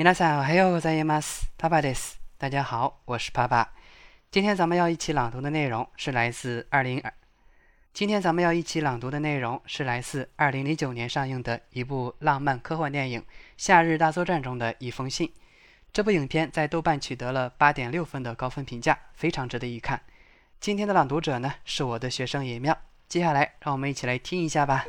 皆さんおはようございます。パパです。大家好，我是爸爸。今天咱们要一起朗读的内容是来自2009年上映的一部浪漫科幻电影《夏日大作战》中的一封信。这部影片在豆瓣取得了8.6分的高分评价，非常值得一看。今天的朗读者呢是我的学生野妙，接下来让我们一起来听一下吧。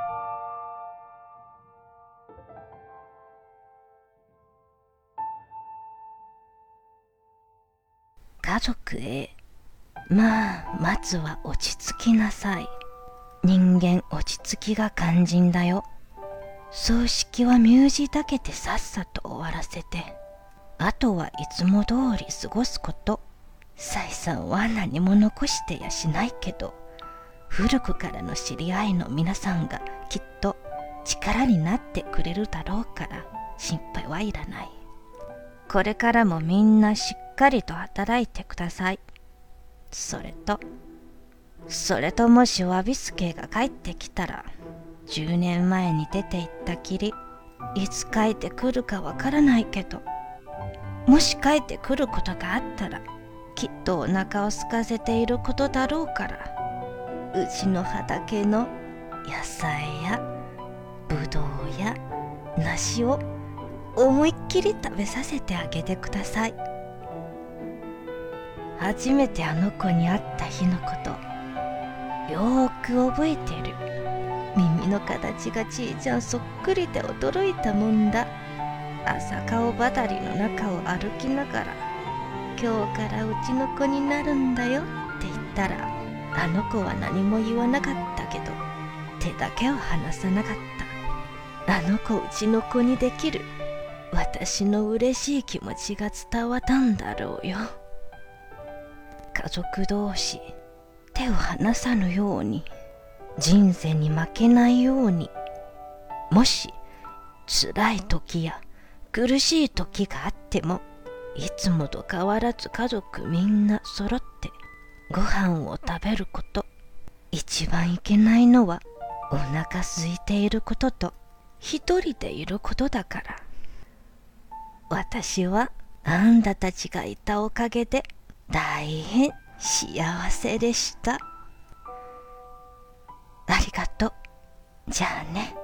家族へ。まずは落ち着きなさい。人間落ち着きが肝心だよ。葬式は身氏だけでさっさと終わらせて、あとはいつも通り過ごすこと。採算は何も残してやしないけど、古くからの知り合いの皆さんがきっと力になってくれるだろうから心配はいらない。これからもみんなしっかりと働いてください。それともしワビスケが帰ってきたら、10年前に出て行ったきり、いつ帰ってくるかわからないけど、もし帰ってくることがあったら、きっとお腹を空かせていることだろうから、うちの畑の野菜やぶどうや梨を思いっきり食べさせてあげてください。初めてあの子に会った日のこと、よーく覚えてる。耳の形がちいちゃんそっくりで驚いたもんだ。朝顔畑の中を歩きながら、今日からうちの子になるんだよって言ったら、あの子は何も言わなかったけど、手だけは離さなかった。あの子うちの子にできる。私の嬉しい気持ちが伝わったんだろうよ。家族同士手を離さぬように、人生に負けないように、もし辛い時や苦しい時があっても、いつもと変わらず家族みんな揃ってご飯を食べること。一番いけないのはお腹空いていることと一人でいることだから。私はあんたたちがいたおかげで大変幸せでした。ありがとう。じゃあね。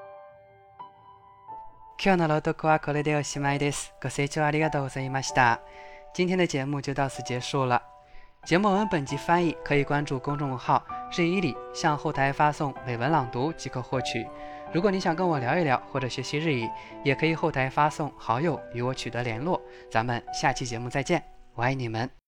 今日の朗読はこれでおしまいです。ご清聴ありがとうございました。今天的节目就到此结束了。节目文本及翻译可以关注公众号日语里，向后台发送美文朗读即可获取。如果你想跟我聊一聊或者学习日语，也可以后台发送好友与我取得联络。咱们下期节目再见，我爱你们。